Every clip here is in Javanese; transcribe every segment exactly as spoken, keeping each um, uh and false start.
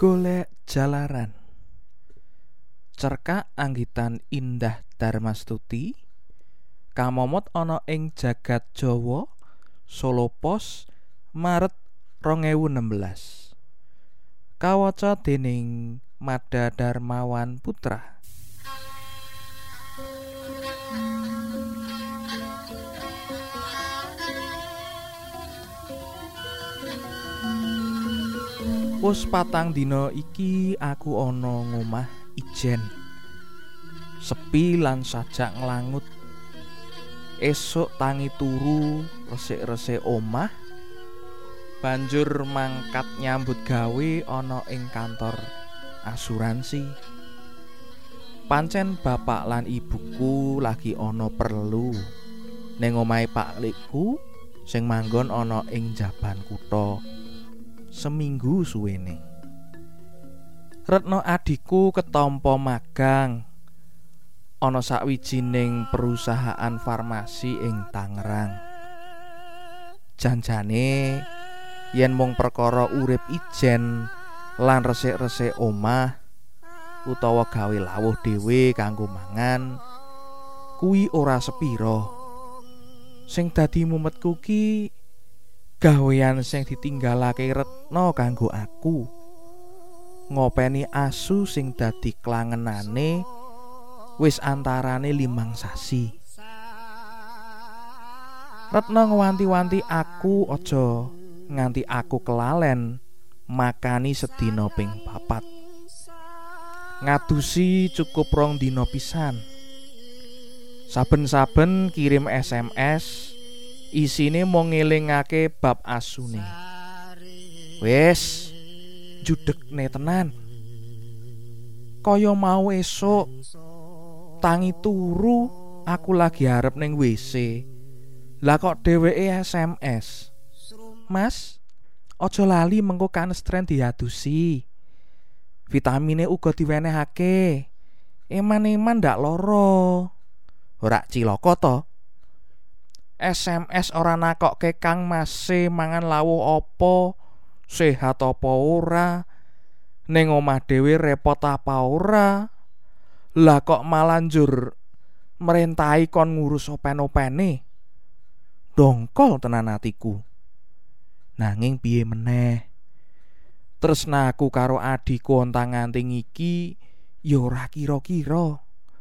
Golek jalaran. Cerkak anggitan Indah Darmastuti kamomot ana ing jagat Jawa, Solo Pos, Maret rong ewu enem belas. Kawaca dening Mada Darmawan Putra. Wus patang dina iki aku ana ngomah ijen. Sepi lan sajak nglangut. Esuk tangi turu resik-resik omah. Banjur mangkat nyambut gawe ana ing kantor asuransi. Pancen bapak lan ibuku lagi ana perlu ning omahe Pak Likku sing manggon ana ing Jaban Kutha. Seminggu suwene. Retno adikku ketampa magang ana sawijining perusahaan farmasi ing Tangerang. Janjane yen mung perkara urip ijen lan resik-resik omah utawa gawe lawuh dhewe kanggo mangan kuwi ora sepira. Sing dadi mumetku ki gawean sing ditinggalake Retno kanggo aku. Ngopeni asu sing dadi klangenane wis antarane limang sasi. Retno ngwanti-wanti aku aja nganti aku kelalen makani sedina ping papat. Ngadusi cukup rong dina pisan. Saben-saben kirim S M S isine mung ngelingake bab asune. Wis judekne tenan. Kaya mau esuk tangi turu aku lagi arep ning W C. Lah kok dheweke S M S. Mas, aja lali mengko kanestren diadusi. Vitamine uga diwenehake. Eman-eman ndak lara. Ora cilaka to? S M S ora nakokke Kang Mase mangan lawuh apa, sehat apa ora, ning omah dhewe repot apa ora. Lah kok malah njur mrentahi kon ngurus open-opene. Dongkol tenan atiku. Nanging piye meneh? Tresnaku karo adhiku ontang-anting iki ya ora kira-kira.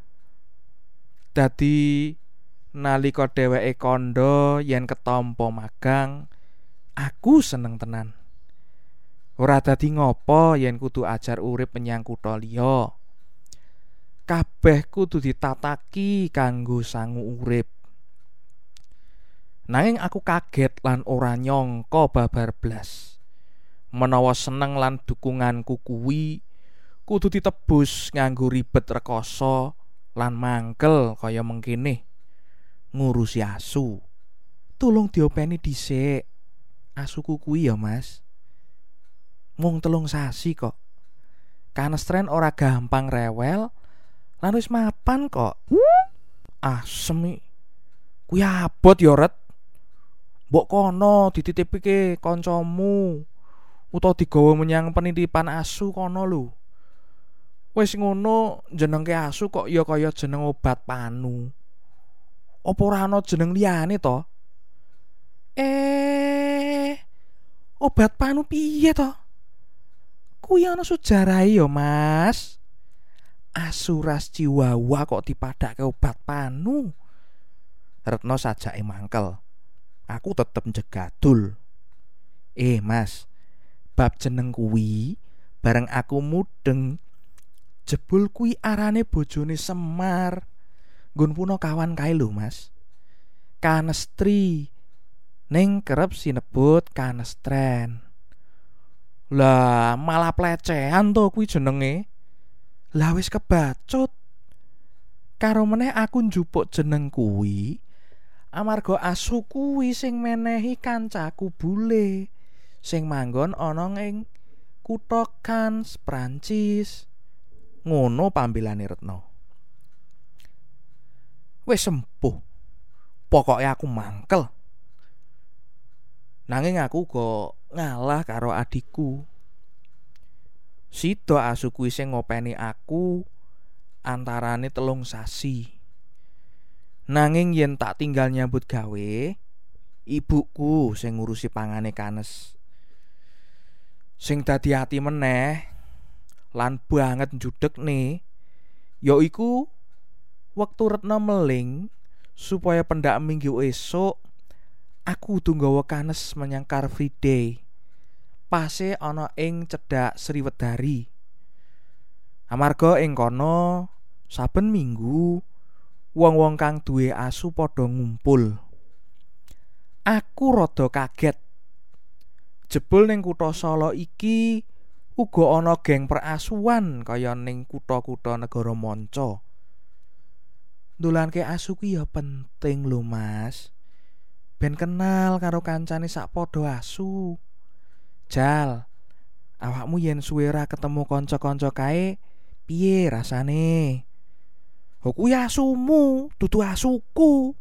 Dadi nalika dheweke kandha yen ketampa magang, aku seneng tenan. Ora dadi ngopo yen kudu ajar urip menyang kutha liya. Kabeh kudu ditataki kanggo sangu urip. Nanging aku kaget lan ora nyangka babar blas. Menawa seneng lan dukunganku kuwi kudu ditebus nganggo ribet rekoso lan mangkel kaya mengkene. Ngurusi asu. Tulung diopeni dhisik. Asuku kuwi ya, Mas. Mung telung sasi kok. Kanestren ora gampang rewel lan wis mapan kok. Asem iki. Kuwi abot ya, Ret. Mbok kono dititipke kancamu utawa digawa menyang penitipan asu kono lho. Wis ngono jenengke asu kok ya kaya jeneng obat panu. Apa ora ana jeneng liyane to? Eh, obat panu piye to? Kuwi ana sujarahe ya, Mas. Asu ras Chihuahua kok dipadhake obat panu. Retno sajake mangkel. Aku tetep njegadul. Eh, Mas. Bab jeneng kuwi bareng aku mudeng jebul kuwi arane bojone Semar. Nggon puno kawan kae lho, Mas. Kanestri ning kerep sinebut kanestren. Lah malah plecehan to kuwi jenenge. Lah wis kebacut. Karo meneh aku njupuk jeneng kuwi amarga asu kuwi sing menehi kancaku bule sing manggon ana ing kutha Cannes, Prancis. Ngono pambelane Retno. Wis sempuh. Pokoke aku mangkel. Nanging aku kok ngalah karo adikku. Sida asu kuwi sing ngopeni aku antarane telung sasi. Nanging yen tak tinggal nyambut gawe, ibuku sing ngurusi pangane Kanes. Sing dadi ati meneh lan banget njudekne yaiku wektu Retno meling supaya pendak minggu esuk aku kudu nggawa Kanes menyang Car Free Day. Pase ana ing cedhak Sriwedari. Amarga ing kono saben minggu wong-wong kang duwe asu padha ngumpul. Aku rada kaget. Jebul ning kutha Solo iki uga ana geng perasuan kaya ning kutha-kutha negara manca. Ndolanke asu ki ya penting lho, Mas. Ben kenal karo kancane sak padha asu. Jal, awakmu yen suwe ra ketemu kanca-kanca kae, piye rasane? Ho kuwi asumu, dudu asuku.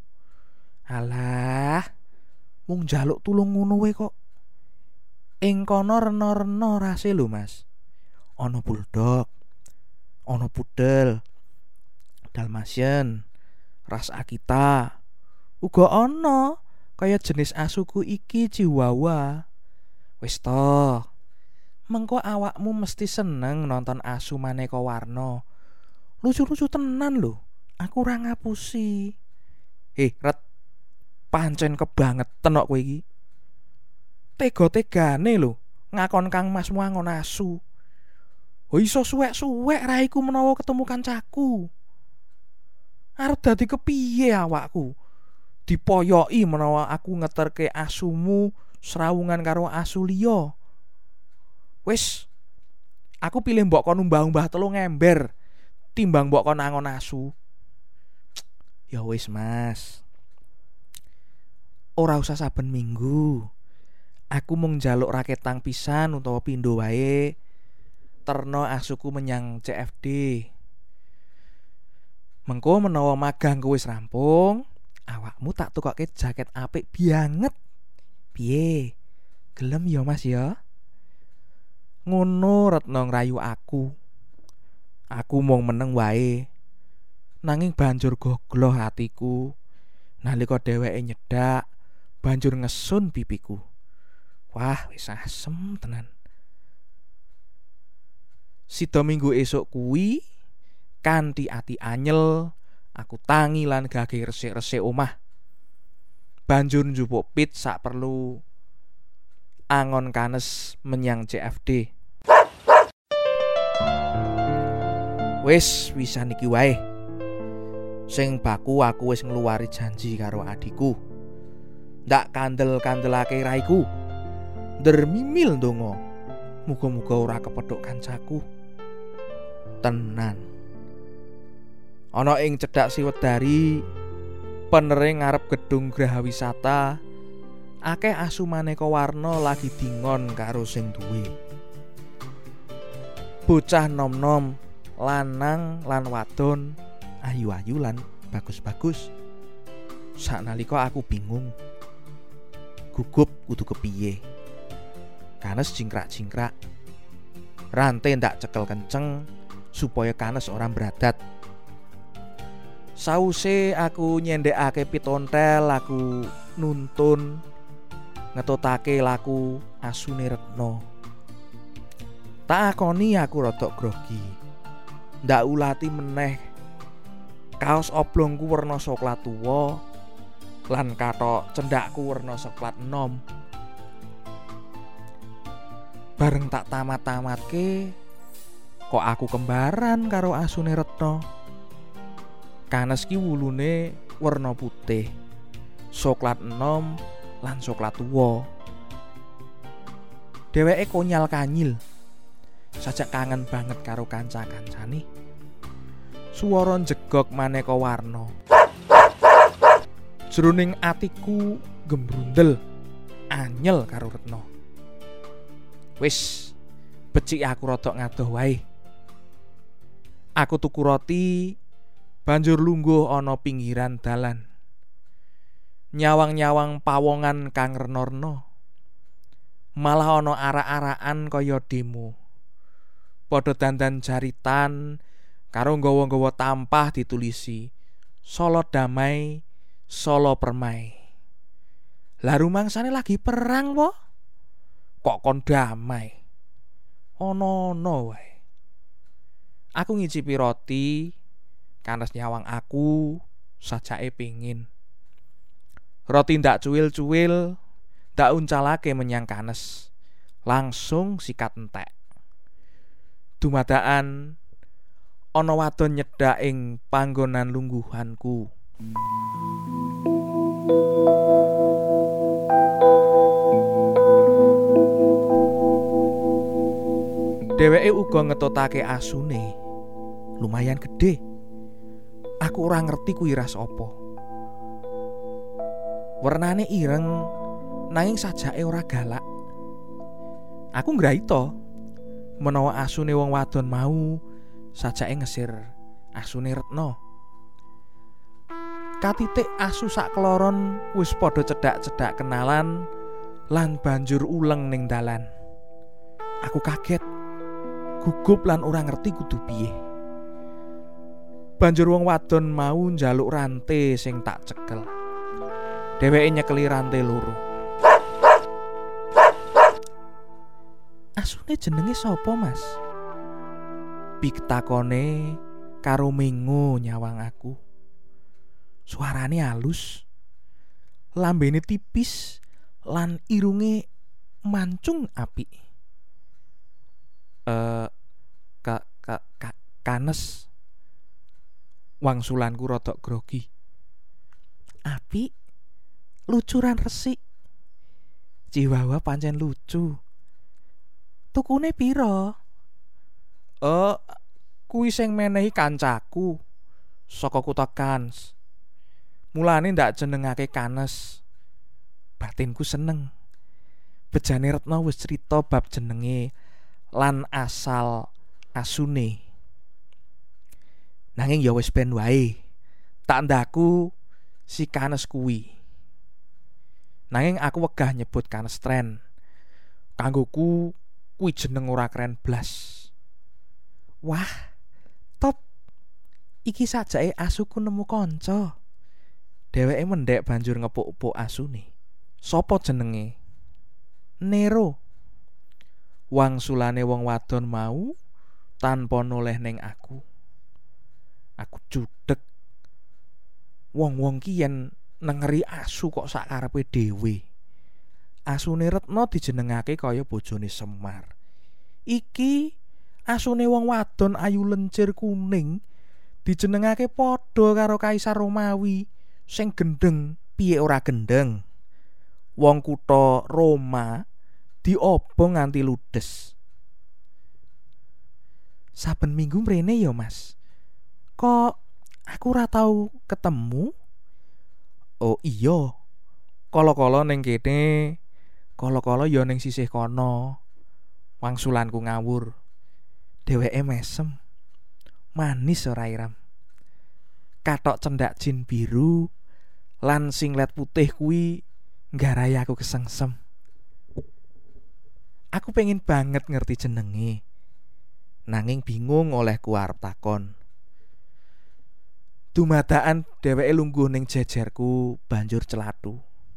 Alah, mung njaluk tulung ngono wae kok. Ing kono rena-rena rase lho, Mas. Ana bulldog, ana pudel, dalmatian, ras Akita. Uga ana kaya jenis asuku iki Chihuahua. Wis to. Mengko awakmu mesti seneng nonton asu maneka warna. Lucu-lucu tenan lho. Aku ora ngapusi. Heh, Ret. Pancen kebangetan kok kowe iki. Tega-tegane lho ngakon kang masmu angon asu. Ho iso suwek-suwek raiku menawa ketemu kancaku. Arep dadi kepiye awakku? Dipoyoki menawa aku ngeterke asumu srawungan karo asu liya. Wis, aku pilih mbok kon umbah-umbah telung ember timbang mbok kon angon asu. Ya wis, Mas. Ora usah saben minggu. Aku mung njaluk raketang pisan utawa pindho wae terno asuku menyang C F D. Mengko menawa magang wis rampung, awakmu tak tukokke jaket apik banget. Piye? Gelem ya, Mas ya? Ngono Retno ngrayu aku. Aku mung meneng wae. Nanging banjur gogloh hatiku nalika dheweke nyedak banjur ngesun pipiku. Wah, wis asem tenan. Sida minggu esuk kuwi kanthi ati anyel aku tangi lan gage resik-resik omah. Banjur njupuk pit sak perlu angon Kanes menyang C F D. Wis wisan iki wae. Sing baku aku wis ngluwari janji karo adikku. Ndak kandel-kandelake raiku. Dermimil ndonga. Muga-muga ora kepethuk kancaku. Tenan. Ana ing cedhak Sriwedari, penering ngarep gedung Graha Wisata, akeh asu maneka warna lagi dingon karo sing duwe. Bocah nom-nom, lanang lan wadon, ayu-ayu lan bagus-bagus. Saknalika aku bingung. Gugup kudu kepiye. Kanes jingkrak-jingkrak. Rantai ndak cekel kenceng supaya Kanes ora bradat. Sause aku nyendhekake pitontel, aku nuntun ngetutake laku asune Retno. Tak akoni aku rada grogi. Ndak ulati meneh. Kaos oblongku werna soklat tuwa lan kathok cendhakku werna soklat enom. Bareng tak tamat-tamatke kok aku kembaran karo asune Retno. Kanes ki wulune werna putih, soklat enom lan soklat tuwa. Dheweke konyal kanyil. Sajak kangen banget karo kanca-kancane. Swara jegok maneka warna. Jroning atiku gembrundel anyel karo Retno. Wis, becik aku rada ngadoh wae. Aku tuku roti, banjur lungguh ana pinggiran dalan. Nyawang-nyawang pawongan kang rena-rena. Malah ana arak-arakan kaya demo. padha dandan jaritan karo nggawa-nggawa tampah ditulisi Solo damai, Solo permai. Lah rumangsane lagi perang po, kok kon damai? Ono-ono wae. Aku ngicipi roti, kanes nyawang aku, sajake pingin. Roti ndak cuwil-cuwil, ndak uncalake menyang kanes, langsung sikat entek. Dumadaan ana wadon nyedhak ing panggonan lungguhanku. Dheweke uga ngetotake asune. Lumayan gede. Aku ora ngerti kuwi ras apa. Wernane ireng nanging sajake ora galak. Aku ngraita menawa asune wong wadon mau sajake ngesir asune Retno. Katitik asu sak kloron wis padha cedhak-cedhak kenalan lan banjur uleng ning dalan. Aku kaget, gugup lan ora ngerti kudu piye. Banjur wong wadon mau njaluk rante sing tak cekel. Dheweke nyekeli rante loro. Asune jenenge sapa, Mas? Piktakone karo mengo nyawang aku. Suarane halus, lambene tipis lan irunge mancung apik. Eh ka, ka, ka kanes. Wangsulanku rodok grogi. Apik, lucuran resik. Jiwawa pancen lucu. Tukune piro? Eh, kuwi sing menehi kancaku saka kutha Kans. Mulane ndak jenengake Kanes. Batinku seneng. Bejane Retno wis crita bab jenenge lan asal asune. Nanging ya wis ben wae. Tak ndaku si Kanes kuwi. Nanging aku wegah nyebut Kanes tren. Kanggoku kuwi jeneng ora keren blas. Wah, top. Iki sajake asuku nemu kanca. Dheweke mendhek banjur ngepuk-epuk asune. Sopo jenenge? Nero. Wangsulane wong wadon mau tanpa noleh ning aku. Aku cudhek. Wong-wong ki yen nengeri asu kok sakarepe dhewe. Asune Retno dijenengake kaya bojone Semar. Iki asune wong wadon ayu lencir kuning dijenengake padha karo Kaisar Romawi sing gendeng. Piye ora gendeng? Wong kutha Roma diobong nganti ludes. Saben minggu mrene ya, Mas. Kok aku ora tau ketemu? Oh iya. Kala-kala ning kene, kala-kala ya ning sisih kono. Wangsulanku ngawur. Dheweke mesem. Manis ora iram. Kathok cendak jin biru lan singlet putih kuwi nggarai aku kesengsem. Aku pengen banget ngerti jenenge. Nanging bingung olehku arep takon. Dumadaan dheweke lungguh ning jejerku banjur celathu.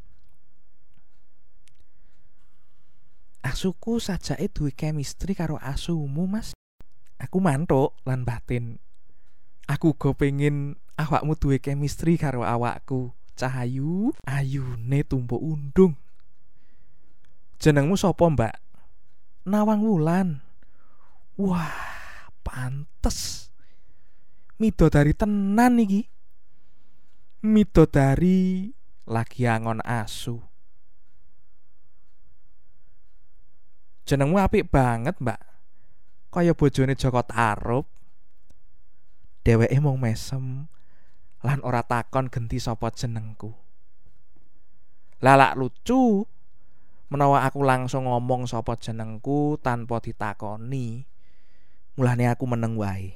Asuku sajake duwe chemistry karo asumu, Mas. Aku mantuk lan batin. Aku uga pengen awakmu duwe chemistry karo awakku. Cahayu, ayune tumpuk undung. Jenengmu sapa, Mbak? Nawang Wulan. Wah, pantes. Midodari tenan iki. Midodari lagi angon asu. Jenengmu apik banget, Mbak. Kaya bojone Joko Tarub. Dheweke mung mesem lan ora takon genti sapa jenengku. Lalak lucu menawa aku langsung ngomong sapa jenengku tanpa ditakoni. Mulane aku meneng wae.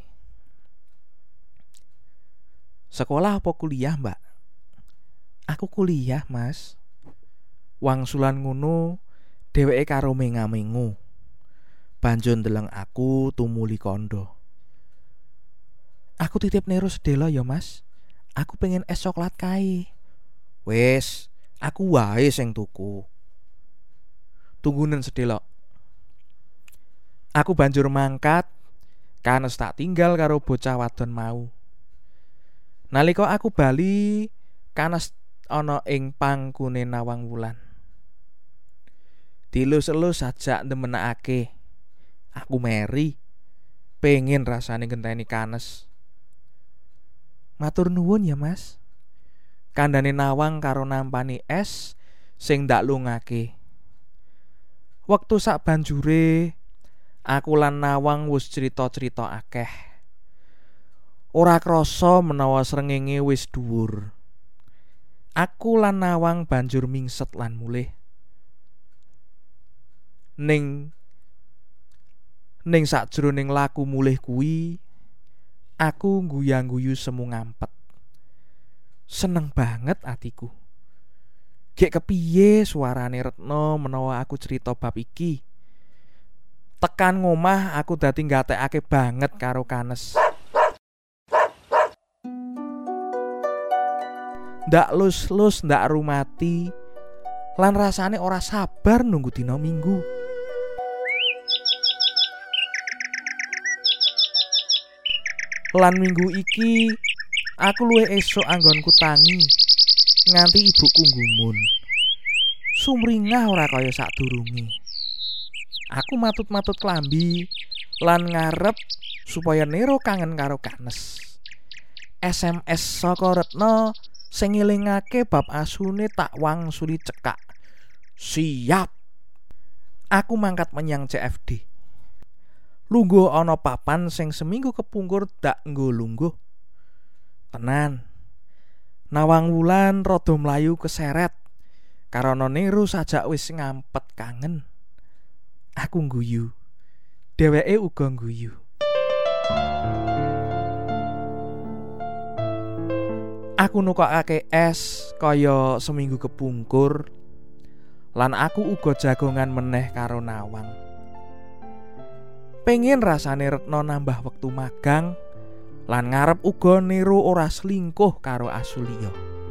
Sekolah apa kuliah, Mbak? Aku kuliah, Mas. Wangsulan ngono dheweke karo menga-mengu. banjur ndeleng aku tumuli kandha. Aku titip Nero sedelo ya Mas. Aku pengen es coklat kae. Wis, aku wae sing tuku. Tunggunen sedelo. Aku banjur mangkat, kanes tak tinggal karo bocah wadon mau. Nalika aku bali, kanes ana ing pangkune Nawang Wulan. Dilus-elus sajak ndemenake. Aku meri, pengen rasane ngenteni kanes. Matur nuwun ya Mas. Kandhane Nawang karo nampani es sing ndak lungake. Wektu sak banjure aku lan Nawang wis crita-crita akeh. Ora krasa menawa srengenge wis dhuwur. Aku lan Nawang banjur mingset lan mulih. Ning ning sakjroning laku mulih kuwi, aku guyang-guyu semu ngampet. Seneng banget atiku. Gek kepiye suarane Retno menawa aku cerita bab iki. Tekan ngomah aku dadi nggatekake banget karo kanes. Ndak lus-lus ndak rumati lan rasane ora sabar nunggu dina Minggu. Lan minggu iki aku luwih esuk anggonku tangi nganti ibuku nggumun. Sumringah ora kaya sadurunge. Aku matut-matut klambi lan ngarep supaya Nero kangen karo kanes. S M S saka Retno sing ngelingake bab asune tak wangsuli cekak. Siap. Aku mangkat menyang C F D. Lungguh ana papan sing seminggu kepungkur dak nggo lungguh. Tenan. Nawang Wulan rada mlayu keseret karana Nero sajak wis ngampet kangen. Aku ngguyu. Dheweke uga ngguyu. Aku nukokake es kaya seminggu kepungkur lan aku uga jagongan meneh karo Nawang. Pengen rasane Retno nambah wektu magang lan ngarep uga Nero ora selingkuh karo asu liya.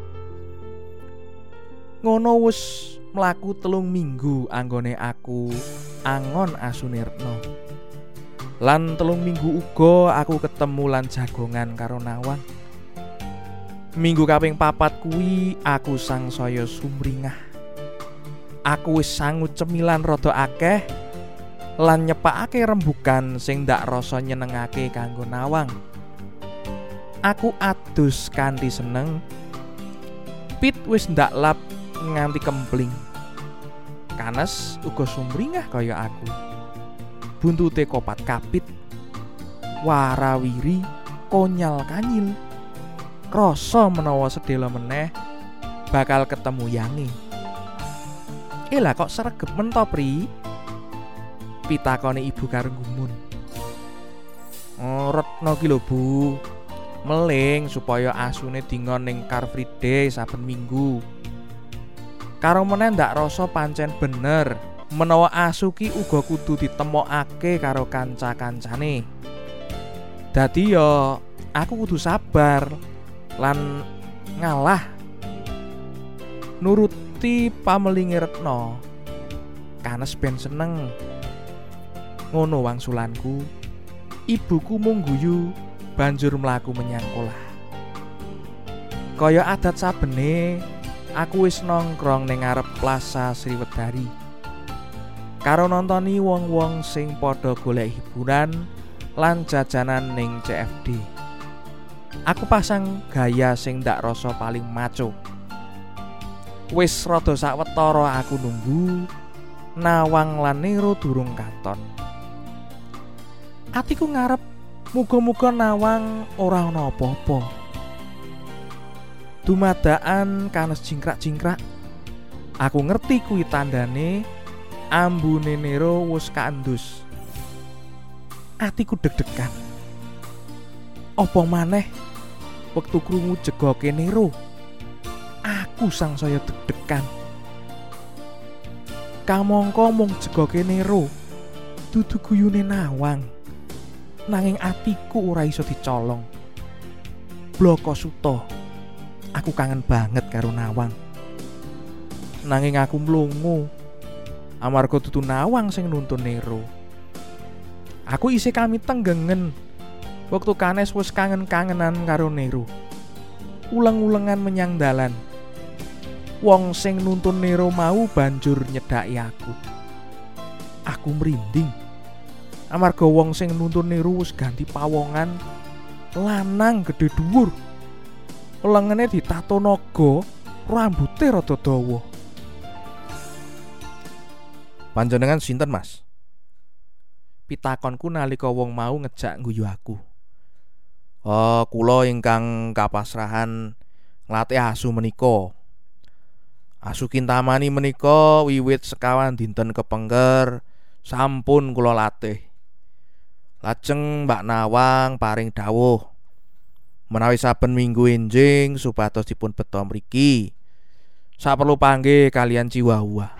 Ngono wis mlaku telung minggu anggone aku angon asune Retno. Lan telung minggu uga aku ketemu lan jagongan karo Nawang. Minggu kaping papat kuwi aku sangsaya sumringah. Aku wis sangu cemilan rada akeh lan nyepakake rembugan sing ndak rasa nyenengake kanggo Nawang. Aku adus kanthi seneng. Pit wis ndak lap nganti kempling. Kanes uga sumringah kaya aku. Buntute kopat kapit. Warawiri konyal kanyil. Krasa menawa sedhela meneh bakal ketemu Yangi. Eh lah kok sregep men to, Pri? Pitakone ibu karo gumun. Oh, Retno ki lho, Bu. Meling supaya asune dingon ning Car Free Day saben minggu. Karo meneh ndak rasa pancen bener menawa asu ki uga kudu ditemokake karo kanca-kancane. Dadi ya aku kudu sabar lan ngalah nuruti pamelinge Retno. Kanes ben seneng. Ngono wangsulanku. Ibuku mung guyu banjur mlaku menyang kolah. Kaya adat sabene, aku wis nongkrong ning ngarep Plaza Sriwedari. Karo nontoni wong-wong sing padha golek hiburan lan jajanan ning C F D. Aku pasang gaya sing ndak rasa paling maco. Wis rada sawetara aku nunggu Nawang lan Nero durung katon. Atiku ngarep muga-muga Nawang ora ana apa-apa. Dumadakan kanes jingkrak-jingkrak. Aku ngerti kuwi tandane ambune Nero wis kaendus. Atiku deg-degan. Apa maneh wektu krungu jegoke Nero, aku sangsaya deg-degan. Kamangka mung jegoke Nero, dudu guyune Nawang, nanging atiku ora iso dicolong. Bloko Suto, aku kangen banget karo Nawang. Nanging aku mlungu amarga dudu Nawang sing nuntun Nero. Aku isih kami tenggengen waktu Kanes wis kangen-kangenan karo Nero. Uleng-ulengan menyang dalan. Wong sing nuntun Nero mau banjur nyedhaki aku. Aku merinding amarga wong sing nuntun Nero wis ganti pawongan, lanang gedhe dhuwur. Lengene ditato naga, rambuté rada dawa. Panjenengan sinten, Mas? Pitakonku nalika wong mau ngejak ngguyu aku. Oh, kula ingkang kapasrahan nglatih asu menika. Asu Kintamani menika wiwit sekawan dinten kepengker sampun kula latih. Lajeng Mbak Nawang paring dawuh menawi saben minggu enjing supados dipun beto mriki. Saperlu panggih kalian Chihuahua.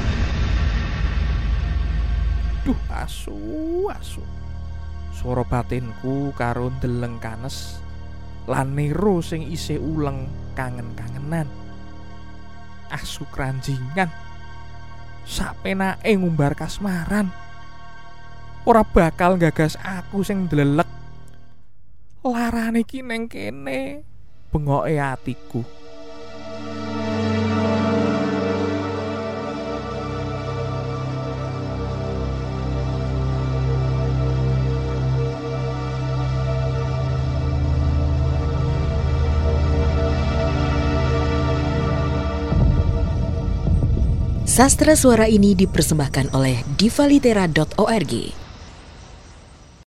Duh, asu, asu. Swara batinku karo ndeleng Kanes lan Nero sing isih uleng kangen-kangenan. Asu kranjingan sapenake ngumbar kasmaran. Ora bakal gagas aku sing ndelelek. Larane iki neng kene, bengoke atiku. Sastra suara ini dipersembahkan oleh diva litera dot org.